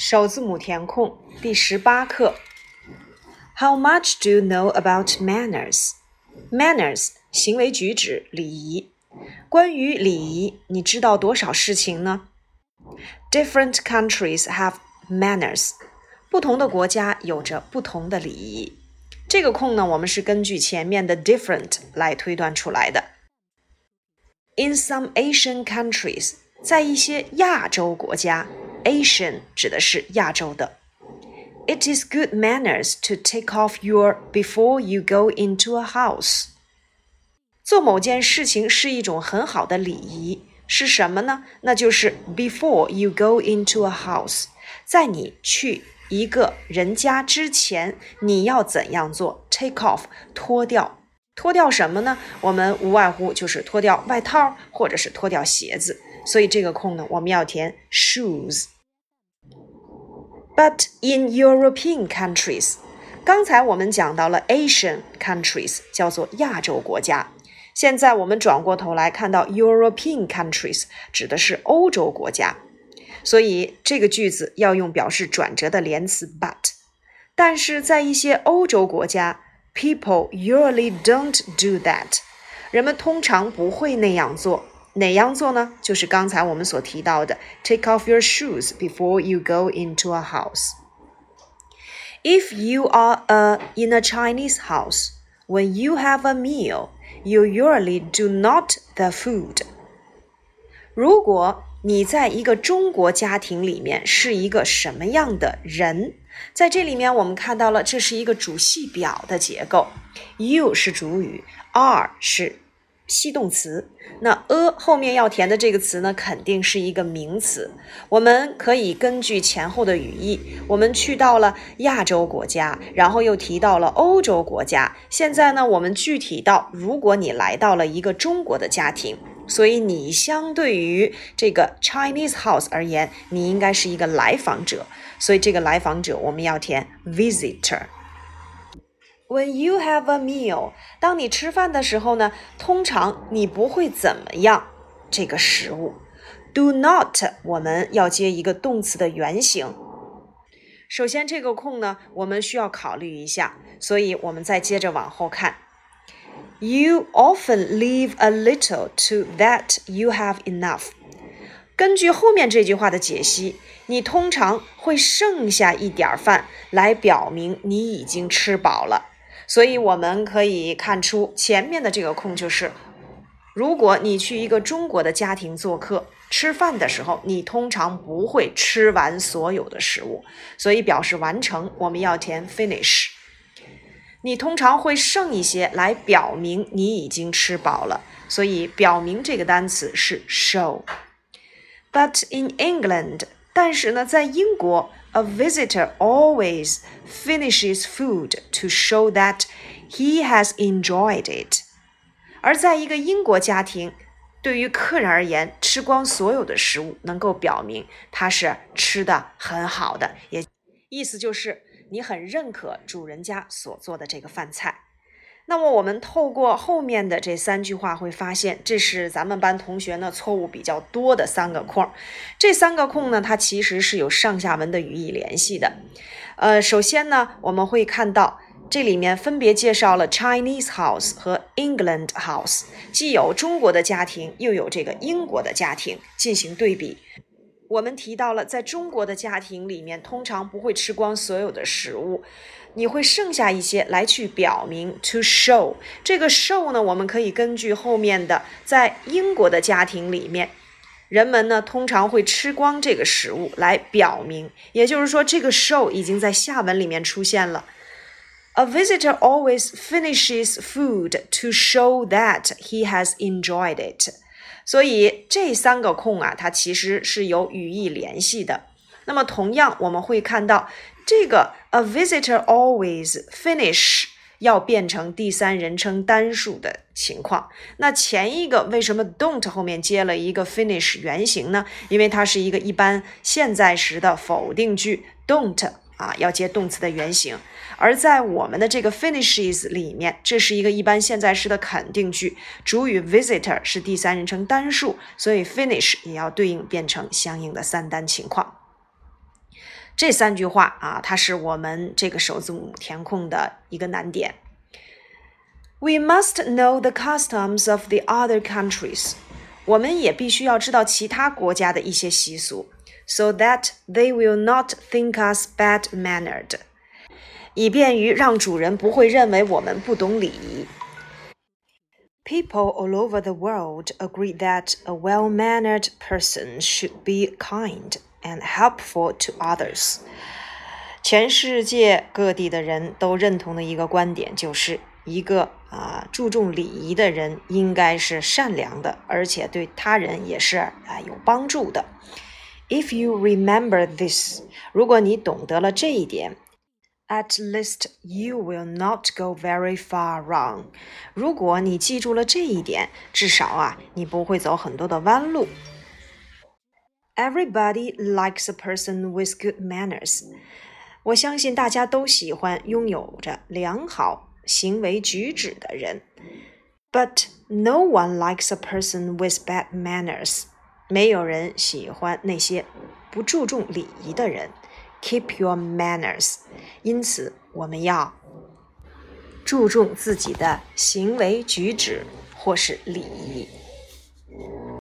首字母填空第18课。How much do you know about manners? Manners 行为举止礼仪。关于礼仪，你知道多少事情呢？ Different countries have manners. 不同的国家有着不同的礼仪。这个空呢，我们是根据前面的 different 来推断出来的。In some Asian countries, 在一些亚洲国家 Asian 指的是亚洲的。It is good manners to take off your before you go into a house. 做某件事情是一种很好的礼仪，是什么呢？那就是 before you go into a house. 在你去一个人家之前，你要怎样做？ Take off 脱掉。脱掉什么呢？我们无外乎就是脱掉外套或者是脱掉鞋子，所以这个空呢，我们要填 shoes。But in European countries, 刚才我们讲到了 Asian countries 叫做亚洲国家，现在我们转过头来看到 European countries 指的是欧洲国家，所以这个句子要用表示转折的连词 but。 但是在一些欧洲国家 People usually don't do that. 人们通常不会那样做。哪样做呢？就是刚才我们所提到的 Take off your shoes before you go into a house. If you are in a Chinese house, when you have a meal, you usually do not the food. 如果你在一个中国家庭里面是一个什么样的人？在这里面我们看到了这是一个主系表的结构， you 是主语， are 是系动词，那 a 后面要填的这个词呢，肯定是一个名词。我们可以根据前后的语义，我们去到了亚洲国家，然后又提到了欧洲国家，现在呢我们具体到如果你来到了一个中国的家庭，所以你相对于这个 Chinese house 而言，你应该是一个来访者，所以这个来访者我们要填 visitor。When you have a meal, 当你吃饭的时候呢，通常你不会怎么样这个食物。Do not 我们要接一个动词的原形。首先这个空呢，我们需要考虑一下，所以我们再接着往后看。You often leave a little to that you have enough. 根据后面这句话的解析，你通常会剩下一点饭来表明你已经吃饱了。所以我们可以看出前面的这个空就是如果你去一个中国的家庭做客，吃饭的时候你通常不会吃完所有的食物，所以表示完成我们要填 finish。 你通常会剩一些来表明你已经吃饱了，所以表明这个单词是 show。 But in England, 但是呢在英国A visitor always finishes food to show that he has enjoyed it. 而在一个英国家庭，对于客人而言，吃光所有的食物能够表明他是吃的很好的，也意思就是你很认可主人家所做的这个饭菜。那么我们透过后面的这3句话会发现，这是咱们班同学呢错误比较多的3个空。这3个空呢，它其实是有上下文的语义联系的。首先呢，我们会看到这里面分别介绍了 Chinese house 和 England house， 既有中国的家庭，又有这个英国的家庭进行对比。我们提到了在中国的家庭里面，通常不会吃光所有的食物，你会剩下一些来去表明 to show。 这个 show 呢，我们可以根据后面的在英国的家庭里面，人们呢通常会吃光这个食物来表明，也就是说这个 show 已经在下文里面出现了。 A visitor always finishes food to show that he has enjoyed it。 所以这3个空啊，它其实是有语义联系的。那么同样我们会看到这个 a visitor always finish 要变成第3人称单数的情况。那前一个为什么 don't 后面接了一个 finish 原形呢？因为它是一个一般现在时的否定句， don't要接动词的原形。而在我们的这个 finishes 里面，这是一个一般现在时的肯定句，主语 visitor 是第3人称单数，所以 finish 也要对应变成相应的3单情况。 这3句话啊，它是我们这个首字母填空的一个难点。We must know the customs of the other countries. 我们也必须要知道其他国家的一些习俗 ，so that they will not think us bad-mannered. 以便于让主人不会认为我们不懂礼仪。People all over the world agree that a well-mannered person should be kind and helpful to others. 全世界各地的人都认同的一个观点就是一个注重礼仪的人应该是善良的，而且对他人也是有帮助的。If you remember this, 如果你懂得了这一点，At least you will not go very far wrong. 如果你记住了这一点，至少你不会走很多的弯路。Everybody likes a person with good manners. 我相信大家都喜欢拥有着良好行为举止的人。But no one likes a person with bad manners. 没有人喜欢那些不注重礼仪的人。Keep your manners. 因此，我们要注重自己的行为举止或是礼仪。